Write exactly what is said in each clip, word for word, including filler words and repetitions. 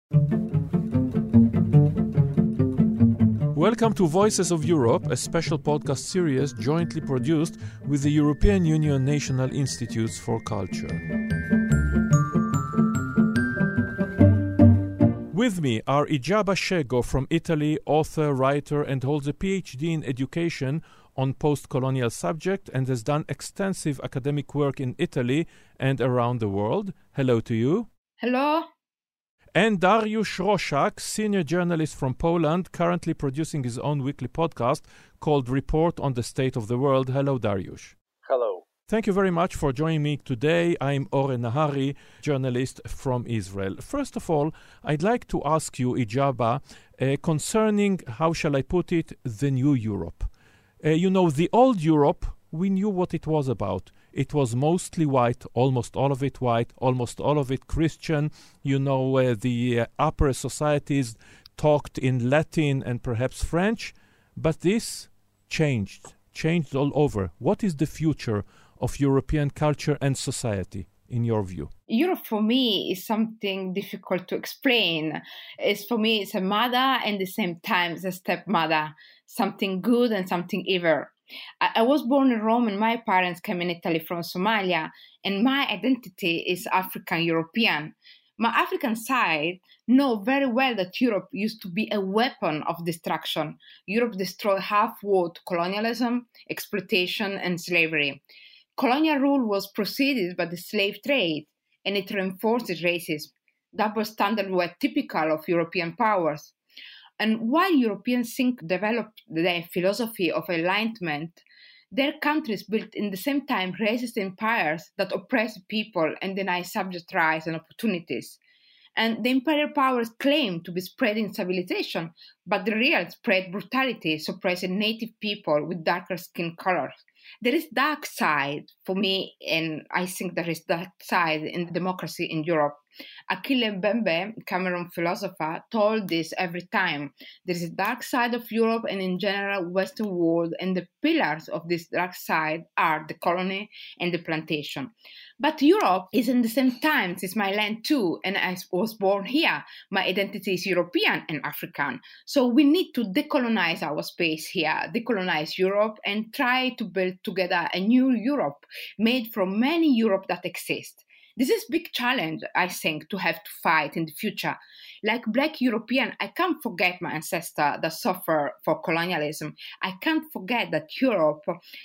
Welcome to Voices of Europe, a special podcast series jointly produced with the European Union National Institutes for Culture. With me are Ijaba Shego from Italy, author, writer, and holds a P H D in education on post-colonial subject and has done extensive academic work in Italy and around the world. Hello to you. Hello. And Dariusz Roszak, senior journalist from Poland, currently producing his own weekly podcast called Report on the State of the World. Hello, Dariusz. Hello. Thank you very much for joining me today. I'm Oren Nahari, journalist from Israel. First of all, I'd like to ask you, Ijaba, uh, concerning, how shall I put it, the new Europe. Uh, you know, the old Europe, we knew what it was about. It was mostly white, almost all of it white, almost all of it Christian. You know, uh, the uh, upper societies talked in Latin and perhaps French. But this changed, changed all over. What is the future of European culture and society, in your view? Europe for me is something difficult to explain. It's for me, it's a mother and at the same time it's a stepmother, something good and something evil. I, I was born in Rome and my parents came in Italy from Somalia, and my identity is African European. My African side know very well that Europe used to be a weapon of destruction. Europe destroyed half-world colonialism, exploitation, and slavery. Colonial rule was preceded by the slave trade, and it reinforced racism. Double standards were typical of European powers. And while Europeans think developed their philosophy of enlightenment, their countries built in the same time racist empires that oppress people and deny subject rights and opportunities. And the imperial powers claim to be spreading civilization, but the real spread brutality, suppressing native people with darker skin colors. There is dark side for me, and I think there is dark side in democracy in Europe. Achille Mbembe, Cameroon philosopher, told this every time. There is a dark side of Europe and in general Western world, and the pillars of this dark side are the colony and the plantation. But Europe is in the same time, it's my land too, and I was born here. My identity is European and African. So we need to decolonize our space here, decolonize Europe, and try to build together a new Europe made from many Europe that exist. This is a big challenge, I think, to have to fight in the future. Like Black European, I can't forget my ancestor that suffered for colonialism. I can't forget that Europe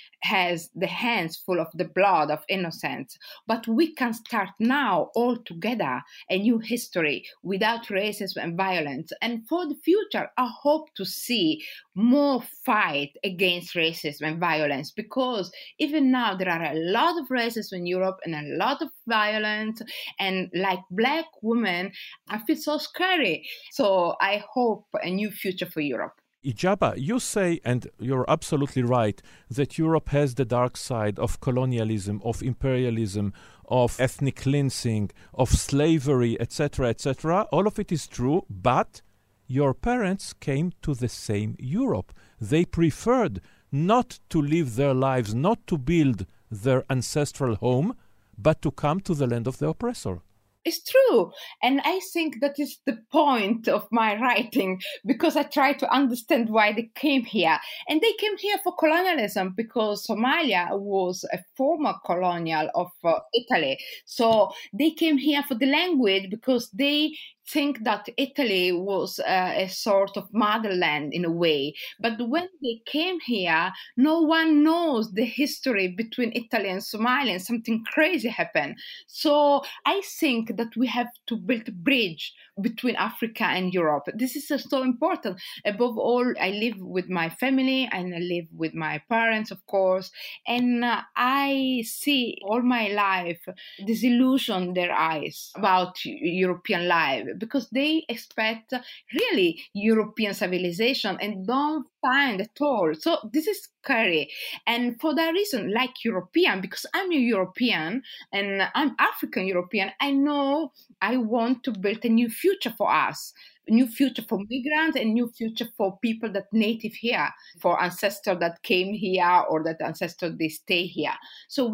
has the hands full of the blood of innocents. But we can start now all together a new history without racism and violence. And for the future, I hope to see more fight against racism and violence, because even now there are a lot of racism in Europe and a lot of violence. And like Black women, I feel so scary. So I hope a new future for Europe. Ijaba, you say, and you're absolutely right, that Europe has the dark side of colonialism, of imperialism, of ethnic cleansing, of slavery, et cetera, et cetera. All of it is true, but your parents came to the same Europe. They preferred not to live their lives, not to build their ancestral home, but to come to the land of the oppressor. It's true. And I think that is the point of my writing, because I try to understand why they came here. And they came here for colonialism because Somalia was a former colonial of uh, Italy. So they came here for the language because they think that Italy was uh, a sort of motherland in a way. But when they came here, no one knows the history between Italy and Somalia, and something crazy happened. So I think that we have to build a bridge between Africa and Europe. This is uh, so important. Above all, I live with my family and I live with my parents, of course, and uh, I see all my life disillusion in their eyes about European life, because they expect really European civilization and don't find at all. So this is scary. And for that reason, like European, because I'm a European and I'm African European, I know I want to build a new future for us. A new future for migrants, and new future for people that native here, for ancestors that came here or that ancestors they stay here. So we need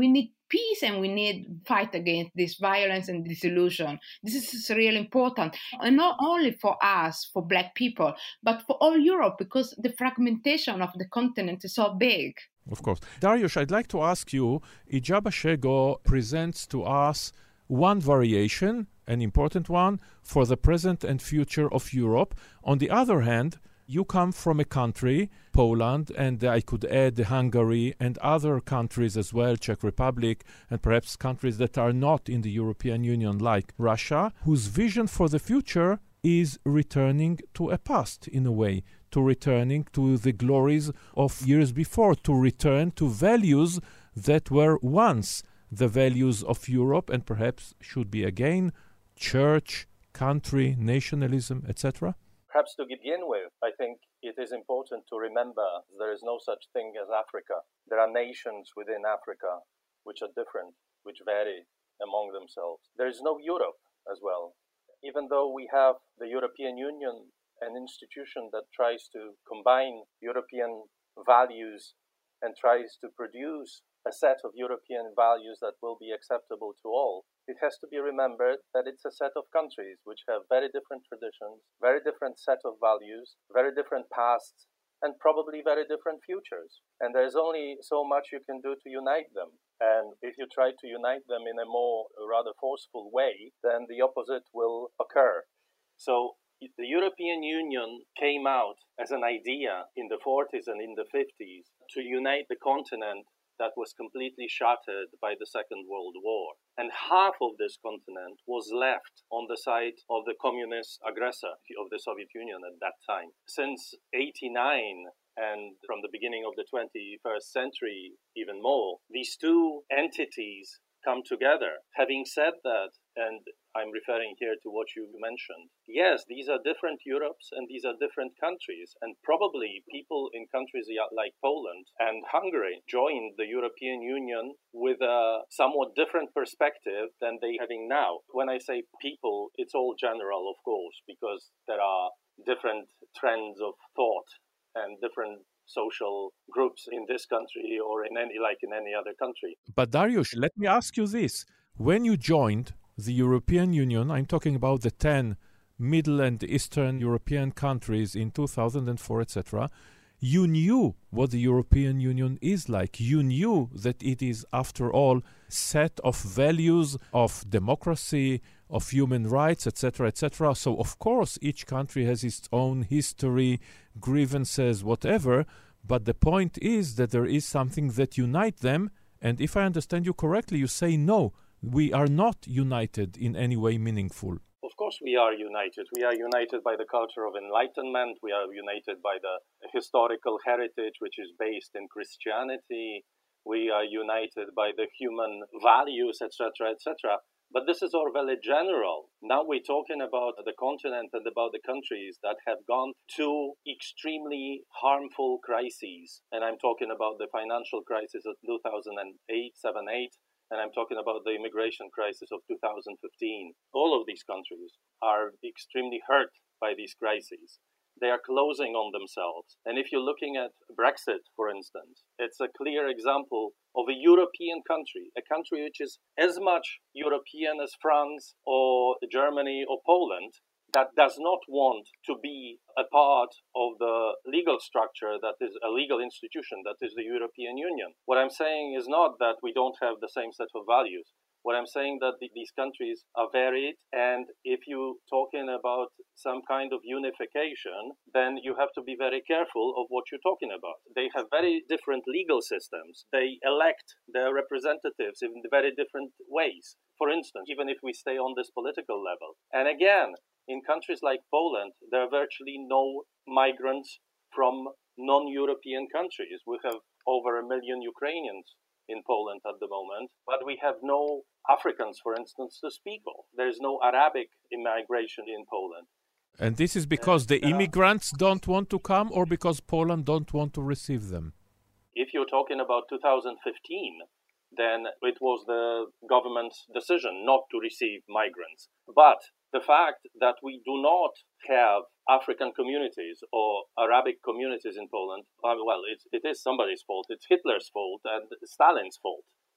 peace and we need fight against this violence and disillusion. This is really important, and not only for us, for Black people, but for all Europe, because the fragmentation of the continent is so big. Of course. Dariusz, I'd like to ask you, Ijaba Shego presents to us one variation, an important one, for the present and future of Europe. On the other hand, you come from a country, Poland, and I could add Hungary and other countries as well, Czech Republic, and perhaps countries that are not in the European Union like Russia, whose vision for the future is returning to a past in a way, to returning to the glories of years before, to return to values that were once the values of Europe and perhaps should be again church, country, nationalism, et cetera? Perhaps to begin with, I think it is important to remember there is no such thing as Africa. There are nations within Africa which are different, which vary among themselves. There is no Europe as well. Even though we have the European Union, an institution that tries to combine European values and tries to produce a set of European values that will be acceptable to all, it has to be remembered that it's a set of countries which have very different traditions, very different set of values, very different pasts, and probably very different futures. And there's only so much you can do to unite them. And if you try to unite them in a more rather forceful way, then the opposite will occur. So the European Union came out as an idea in the forties and in the fifties to unite the continent that was completely shattered by the Second World War. And half of this continent was left on the side of the communist aggressor of the Soviet Union at that time. Since eighty-nine, and from the beginning of the twenty-first century even more, these two entities come together. Having said that, and I'm referring here to what you mentioned, yes, these are different Europes and these are different countries. And probably people in countries like Poland and Hungary joined the European Union with a somewhat different perspective than they are having now. When I say people, it's all general, of course, because there are different trends of thought and different social groups in this country or in any like in any other country. But Dariusz, let me ask you this. When you joined the European Union, I'm talking about the ten Middle and Eastern European countries in two thousand four, et cetera, you knew what the European Union is like. You knew that it is, after all, set of values of democracy, of human rights, et cetera, et cetera. So, of course, each country has its own history, grievances, whatever. But the point is that there is something that unites them. And if I understand you correctly, you say no, we are not united in any way meaningful. Of course we are united. We are united by the culture of enlightenment. We are united by the historical heritage, which is based in Christianity. We are united by the human values, et cetera, et cetera. But this is all very general. Now we're talking about the continent and about the countries that have gone through extremely harmful crises. And I'm talking about the financial crisis of two thousand eight, seven, eight. And I'm talking about the immigration crisis of two thousand fifteen. All of these countries are extremely hurt by these crises. They are closing on themselves. And if you're looking at Brexit, for instance, it's a clear example of a European country, a country which is as much European as France or Germany or Poland, that does not want to be a part of the legal structure that is a legal institution that is the European Union. What I'm saying is not that we don't have the same set of values. What I'm saying that the, these countries are varied, and if you're talking about some kind of unification, then you have to be very careful of what you're talking about. They have very different legal systems. They elect their representatives in very different ways. For instance, even if we stay on this political level. And again, in countries like Poland, there are virtually no migrants from non-European countries. We have over a million Ukrainians in Poland at the moment, but we have no Africans, for instance, to speak of. There is no Arabic immigration in Poland. And this is because the immigrants don't want to come, or because Poland don't want to receive them? If you're talking about two thousand fifteen, then it was the government's decision not to receive migrants. But the fact that we do not have African communities or Arabic communities in Poland, well, it, it is somebody's fault. It's Hitler's fault and Stalin's fault.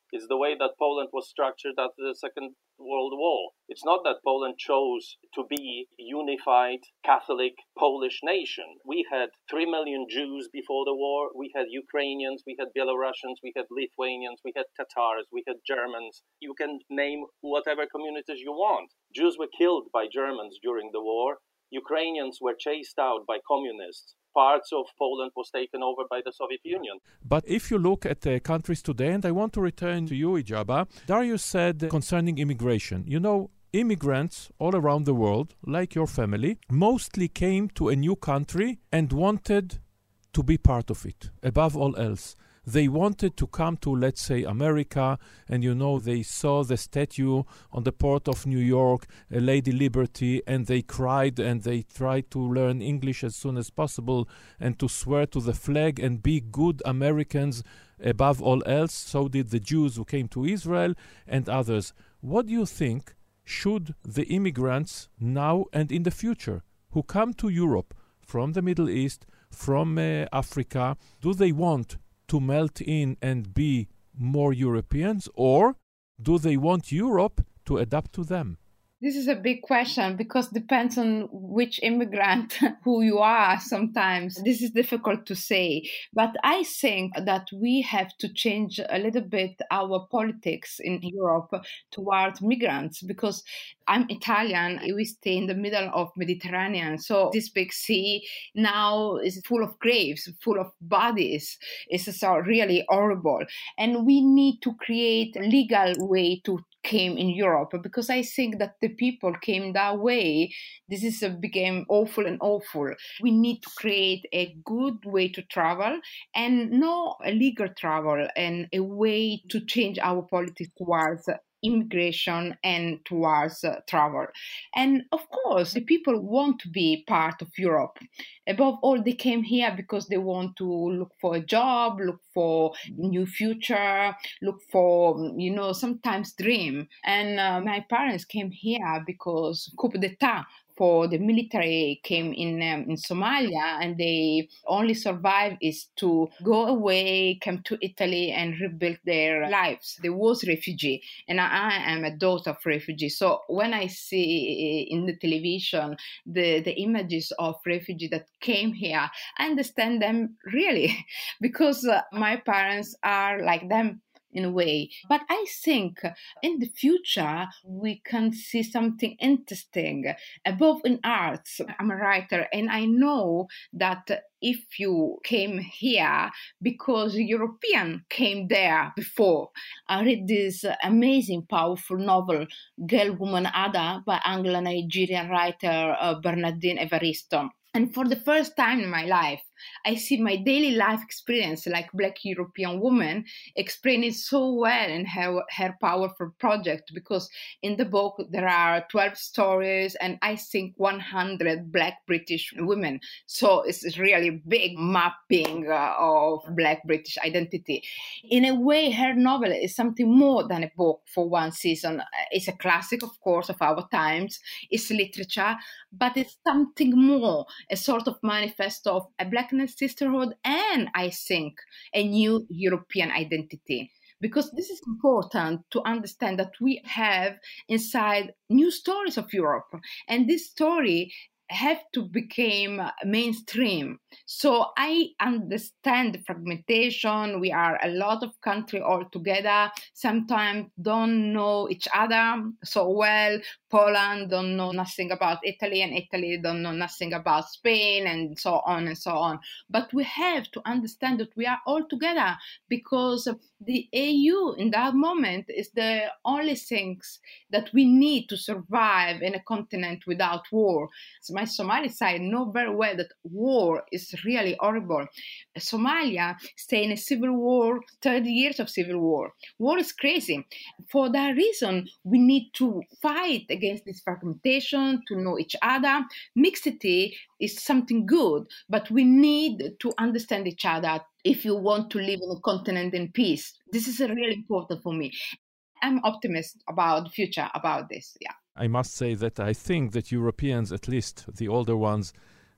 It's the way that Poland was structured after the Second World War. It's not that Poland chose to be a unified Catholic Polish nation. We had three million Jews before the war. We had Ukrainians, we had Belarusians, we had Lithuanians, we had Tatars, we had Germans. You can name whatever communities you want. Jews were killed by Germans during the war. Ukrainians were chased out by communists. Parts of Poland was taken over by the Soviet Union. But if you look at the countries today, and I want to return to you, Ijaba, Darius said concerning immigration, you know, immigrants all around the world, like your family, mostly came to a new country and wanted to be part of it, above all else. They wanted to come to, let's say, America, and, you know, they saw the statue on the port of New York, uh, Lady Liberty, and they cried and they tried to learn English as soon as possible and to swear to the flag and be good Americans above all else. So did the Jews who came to Israel and others. What do you think should the immigrants now and in the future who come to Europe from the Middle East, from uh, Africa, do they want to melt in and be more Europeans, or do they want Europe to adapt to them? This is a big question because it depends on which immigrant who you are sometimes. This is difficult to say. But I think that we have to change a little bit our politics in Europe towards migrants because I'm Italian. We stay in the middle of Mediterranean. So this big sea now is full of graves, full of bodies. It's so really horrible. And we need to create a legal way to came in Europe because I think that the people came that way. This is a, became awful and awful. We need to create a good way to travel and not illegal travel and a way to change our politics towards immigration and towards uh, travel. And of course, the people want to be part of Europe. Above all, they came here because they want to look for a job, look for new future, look for, you know, sometimes dream. And uh, my parents came here because coup d'etat for the military came in um, in Somalia, and they only survived is to go away, come to Italy and rebuild their lives. There was refugee, and I, I am a daughter of refugees. So when I see in the television the, the images of refugees that came here, I understand them really because uh, my parents are like them in a way. But I think in the future, we can see something interesting above in arts. I'm a writer, and I know that if you came here because European came there before. I read this amazing, powerful novel, Girl, Woman, Ada, by Anglo-Nigerian writer uh, Bernardine Evaristo. And for the first time in my life, I see my daily life experience like Black European woman explained it so well in her, her powerful project, because in the book there are twelve stories and I think one hundred Black British women. So it's really big mapping uh, of Black British identity. In a way, her novel is something more than a book for one season. It's a classic, of course, of our times. It's literature, but it's something more, a sort of manifesto of a Black sisterhood, and I think a new European identity. Because this is important to understand that we have inside new stories of Europe, and this story have to become mainstream. So I understand the fragmentation. We are a lot of countries all together, sometimes don't know each other so well. Poland don't know nothing about Italy, and Italy don't know nothing about Spain, and so on and so on. But we have to understand that we are all together, because the E U in that moment is the only things that we need to survive in a continent without war. So my Somali side know very well that war is really horrible. Somalia stay in a civil war, thirty years of civil war. War is crazy. For that reason, we need to fight against this fragmentation, to know each other. Mixity is something good, but we need to understand each other if you want to live on a continent in peace. This is really important for me. I'm optimistic about the future, about this, yeah. I must say that I think that Europeans, at least the older ones,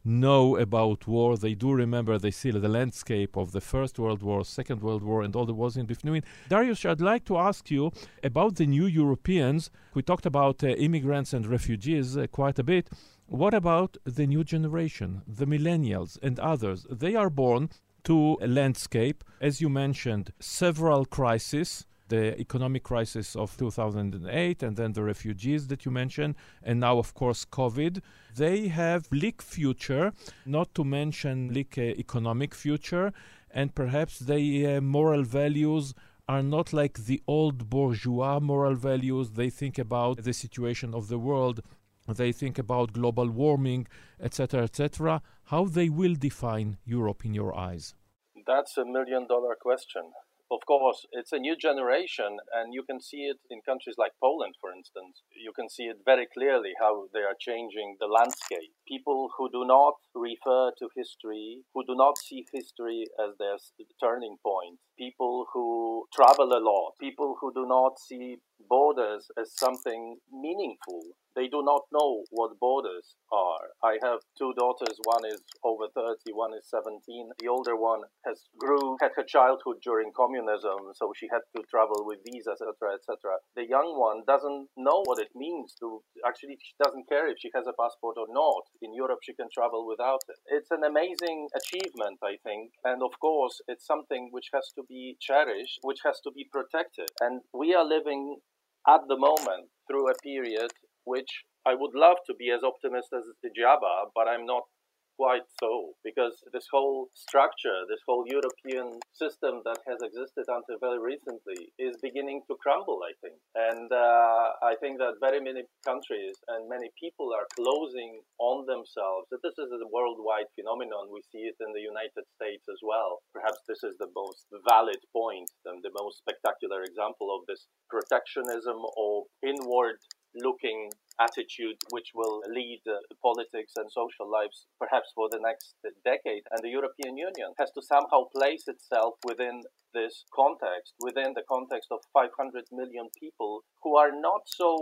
know about war. They do remember, they see the landscape of the First World War, Second World War, and all the wars in between. Darius, I'd like to ask you about the new Europeans. We talked about uh, immigrants and refugees uh, quite a bit. What about the new generation, the millennials and others? They are born to a landscape, as you mentioned, several crises, the economic crisis of two thousand eight, and then the refugees that you mentioned, and now, of course, COVID. They have bleak future, not to mention bleak uh, economic future, and perhaps their uh, moral values are not like the old bourgeois moral values. They think about the situation of the world. They think about global warming, et cetera, et cetera. How they will define Europe in your eyes? That's a million-dollar question. Of course, it's a new generation, and you can see it in countries like Poland, for instance. You can see it very clearly how they are changing the landscape. People who do not refer to history, who do not see history as their turning point, people who travel a lot, people who do not see borders as something meaningful. They do not know what borders are. I have two daughters. One is over thirty, one is seventeen. The older one has grew, had her childhood during communism, so she had to travel with visas, et cetera, et cetera. The young one doesn't know what it means to, actually, she doesn't care if she has a passport or not. In Europe, she can travel without it. It's an amazing achievement, I think. And of course, it's something which has to be cherished, which has to be protected. And we are living at the moment through a period which I would love to be as optimistic as Jabba, but I'm not quite so, because this whole structure, this whole European system that has existed until very recently is beginning to crumble, I think. And uh, I think that very many countries and many people are closing on themselves. This is a worldwide phenomenon. We see it in the United States as well. Perhaps this is the most valid point and the most spectacular example of this protectionism or inward looking attitude which will lead uh, politics and social lives perhaps for the next decade. And the European Union has to somehow place itself within this context, within the context of five hundred million people who are not so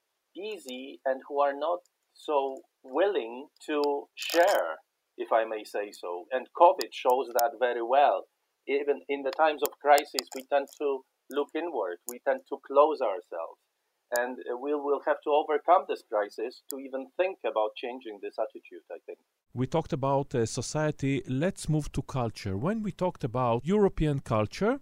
easy and who are not so willing to share, if I may say so. And COVID shows that very well. Even in the times of crisis, we tend to look inward. We tend to close ourselves. And we will have to overcome this crisis to even think about changing this attitude, I think. We talked about uh, society. Let's move to culture. When we talked about European culture,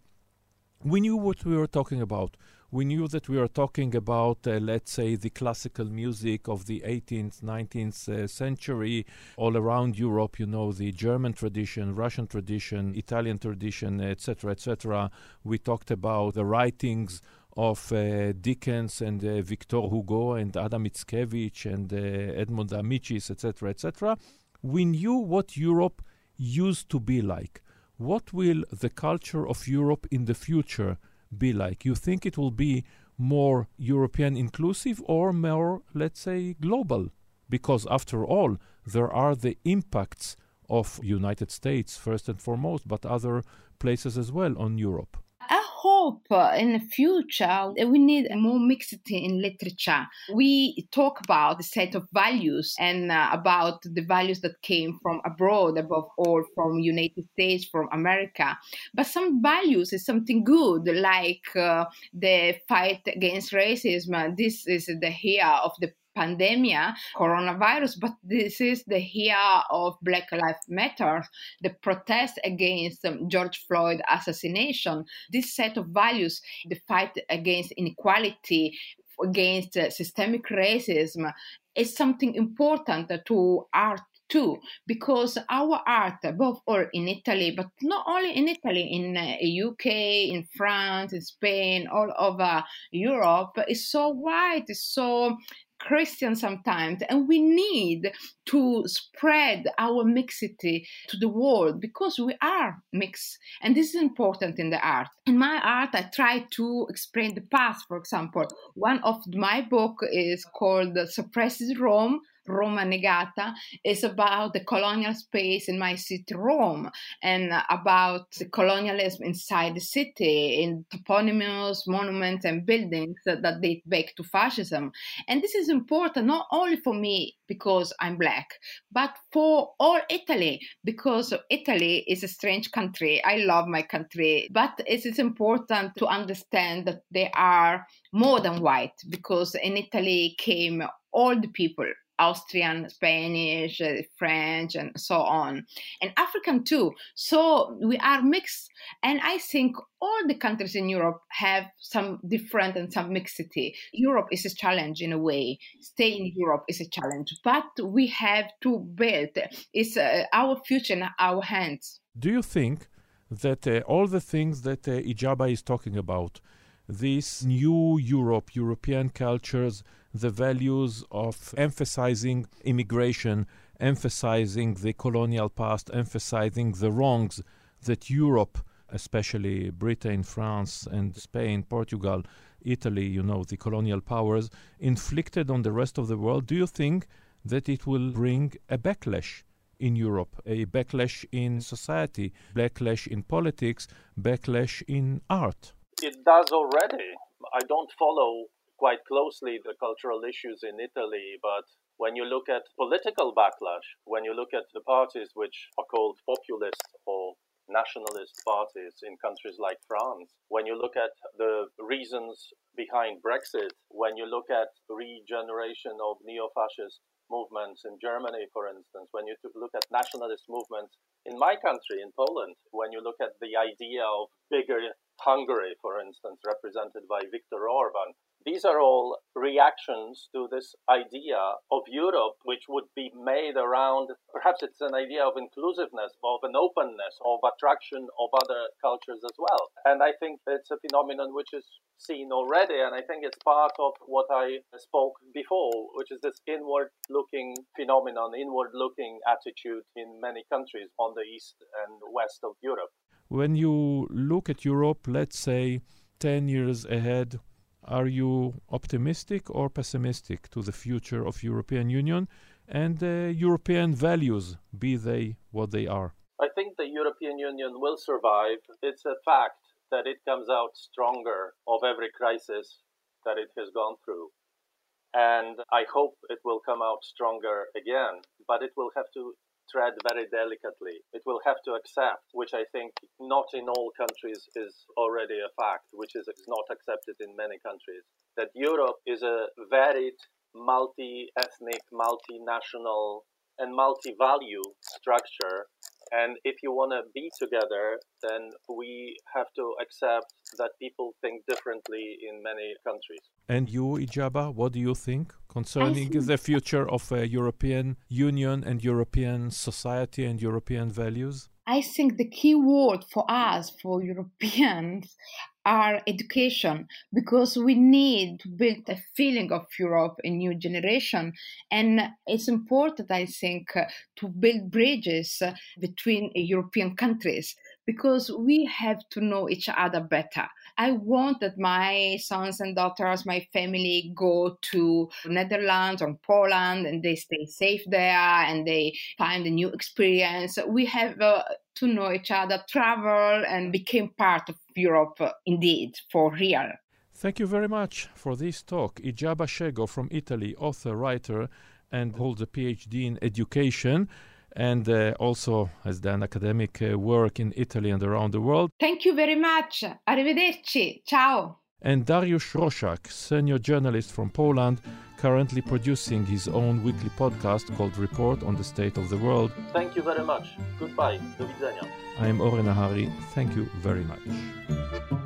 we knew what we were talking about. We knew that we were talking about, uh, let's say, the classical music of the eighteenth, nineteenth uh, century all around Europe, you know, the German tradition, Russian tradition, Italian tradition, et cetera, et cetera. We talked about the writings of uh, Dickens and uh, Victor Hugo and Adam Mickiewicz and uh, Edmund Amicis, et cetera, et cetera. We knew what Europe used to be like. What will the culture of Europe in the future be like? You think it will be more European inclusive or more, let's say, global? Because after all, there are the impacts of United States first and foremost, but other places as well on Europe. I hope uh, in the future we need more mixity in literature. We talk about the set of values and uh, about the values that came from abroad, above all from United States, from America. But some values is something good, like uh, the fight against racism. This is the year of the pandemia, coronavirus, but this is the year of Black Lives Matter, the protest against um, George Floyd assassination. This set of values, the fight against inequality, against uh, systemic racism, is something important to art too, because our art, above all in Italy, but not only in Italy, in uh, U K, in France, in Spain, all over Europe, is so white, is so Christian sometimes, and we need to spread our mixity to the world because we are mixed, and this is important in the art. In my art, I try to explain the past. For example, one of my book is called Suppressed Rome, Roma Negata, is about the colonial space in my city, Rome, and about the colonialism inside the city, in toponyms, monuments, and buildings that, that date back to fascism. And this is important not only for me because I'm Black, but for all Italy, because Italy is a strange country. I love my country, but it is important to understand that they are more than white, because in Italy came all the people, Austrian, Spanish, uh, French, and so on, and African too. So we are mixed, and I think all the countries in Europe have some different and some mixity. Europe is a challenge in a way. Stay in Europe is a challenge, but we have to build. It's uh, our future in our hands. Do you think that uh, all the things that uh, Ijaba is talking about, this new Europe, European cultures, the values of emphasizing immigration, emphasizing the colonial past, emphasizing the wrongs that Europe, especially Britain, France, and Spain, Portugal, Italy, you know, the colonial powers, inflicted on the rest of the world, do you think that it will bring a backlash in Europe, a backlash in society, backlash in politics, backlash in art? It does already. I don't follow quite closely the cultural issues in Italy, but when you look at political backlash, when you look at the parties which are called populist or nationalist parties in countries like France, when you look at the reasons behind Brexit, when you look at regeneration of neo-fascist movements in Germany, for instance, when you look at nationalist movements in my country, in Poland, when you look at the idea of bigger Hungary, for instance, represented by Viktor Orban, these are all reactions to this idea of Europe, which would be made around, perhaps it's an idea of inclusiveness, of an openness, of attraction of other cultures as well. And I think it's a phenomenon which is seen already, and I think it's part of what I spoke before, which is this inward-looking phenomenon, inward-looking attitude in many countries on the east and west of Europe. When you look at Europe, let's say ten years ahead, are you optimistic or pessimistic to the future of European Union and uh, European values, be they what they are? I think the European Union will survive. It's a fact that it comes out stronger of every crisis that it has gone through. And I hope it will come out stronger again, but it will have to tread very delicately. It will have to accept, which I think not in all countries is already a fact, which is not accepted in many countries, that Europe is a varied, multi-ethnic, multinational, and multi-value structure. And if you want to be together, then we have to accept that people think differently in many countries. And you, Ijaba, what do you think concerning think the future of a European Union and European society and European values? I think the key word for us, for Europeans, are education, because we need to build a feeling of Europe in new generation. And it's important, I think, uh, to build bridges uh, between European countries, because we have to know each other better. I want that my sons and daughters, my family, go to Netherlands or Poland and they stay safe there and they find a new experience. We have uh, to know each other, travel, and become part of Europe uh, indeed, for real. Thank you very much for this talk. Ijaba Shego from Italy, author, writer, and holds a P H D in education, and uh, also has done academic uh, work in Italy and around the world. Thank you very much. Arrivederci. Ciao. And Dariusz Roszak, senior journalist from Poland, currently producing his own weekly podcast called Report on the State of the World. Thank you very much. Goodbye. Do widzenia. I am Oren Nahari. Thank you very much.